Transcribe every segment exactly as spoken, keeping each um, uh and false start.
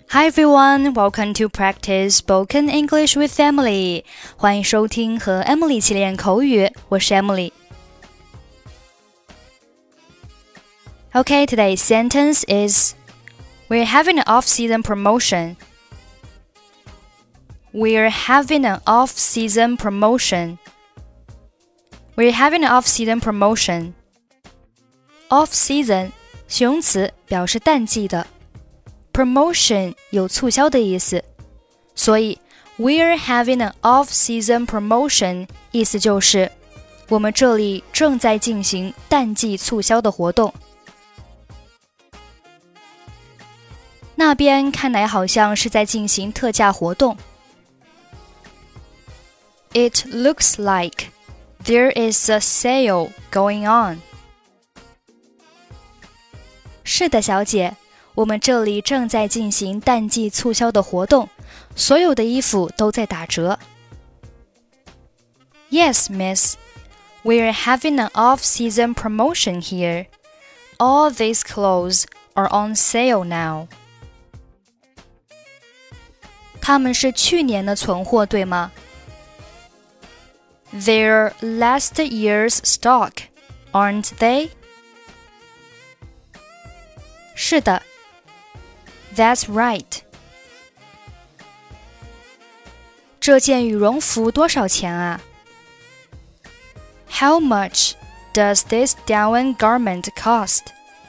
Hi everyone, welcome to practice spoken English with Emily. 欢迎收听和 Emily 一起练口语，我是 Emily. Okay, today's sentence is We're having an off-season promotion. We're having an off-season promotion. We're having an off-season promotion. Off-season 形容词，表示淡季的。Promotion 有促销的意思，所以 We're having an off-season promotion 意思就是我们这里正在进行淡季促销的活动。那边看来好像是在进行特价活动。It looks like there is a sale going on. 是的，小姐。我们这里正在进行淡季促销的活动，所有的衣服都在打折。Yes, miss. We're having an off-season promotion here. All these clothes are on sale now. 他们是去年的存货，对吗？ They're last year's stock, aren't they? 是的。That's right. 这件羽绒服多少钱啊？ How much does this down garment cost?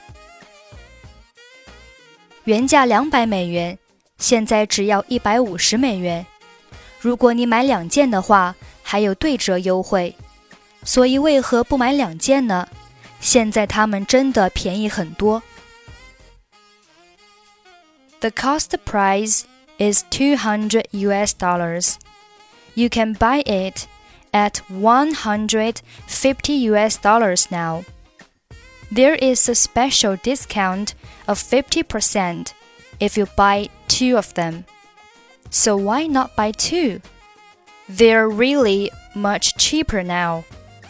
原价两百美元，现在只要一百五十美元。如果你买两件的话，还有对折优惠。所以为何不买两件呢？现在它们真的便宜很多。The cost price is two hundred U S dollars. You can buy it at one hundred fifty U S dollars now. There is a special discount of fifty percent if you buy two of them. So why not buy two? They're really much cheaper now.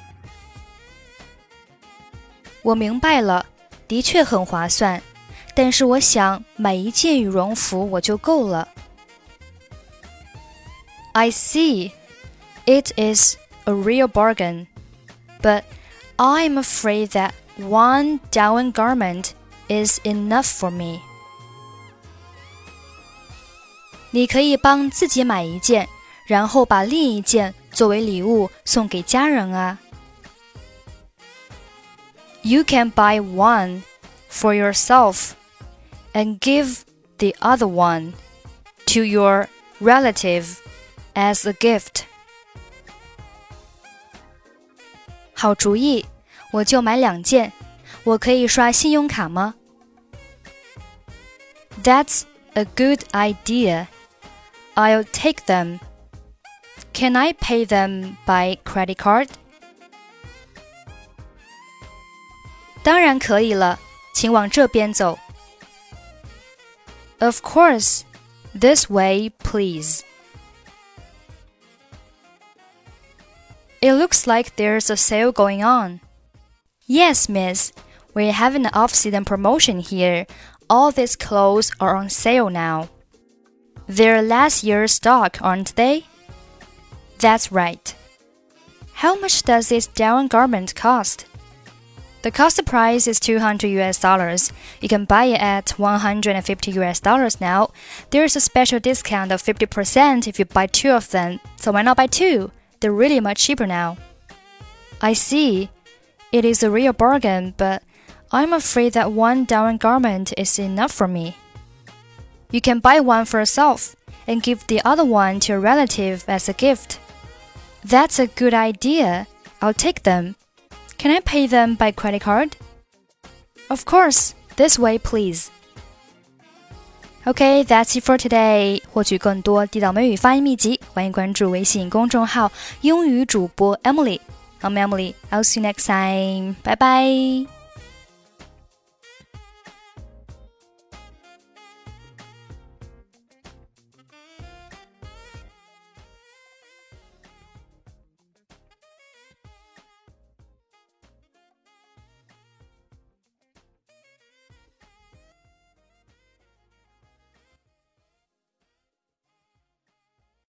我明白了，的确很划算。但是我想买一件羽绒服我就够了。I see. It is a real bargain. But I'm afraid that one down garment is enough for me. 你可以帮自己买一件，然后把另一件作为礼物送给家人啊。You can buy one for yourself.And give the other one to your relative as a gift. 好主意，我就买两件。我可以刷信用卡吗？ That's a good idea. I'll take them. Can I pay them by credit card? 当然可以了，请往这边走。Of course. This way, please. It looks like there's a sale going on. Yes, miss. We're having an off-season promotion here. All these clothes are on sale now. They're last year's stock, aren't they? That's right. How much does this down garment cost?The cost price is two hundred U S dollars. You can buy it at one hundred fifty U S dollars now. There's a special discount of fifty percent if you buy two of them. So why not buy two? They're really much cheaper now. I see. It is a real bargain, but I'm afraid that one down garment is enough for me. You can buy one for yourself and give the other one to a relative as a gift. That's a good idea. I'll take them.Can I pay them by credit card? Of course. This way, please. Okay, that's it for today. 获取更多地道美语发音秘籍，欢迎关注微信公众号英语主播 Emily. I'm Emily. I'll see you next time. Bye bye.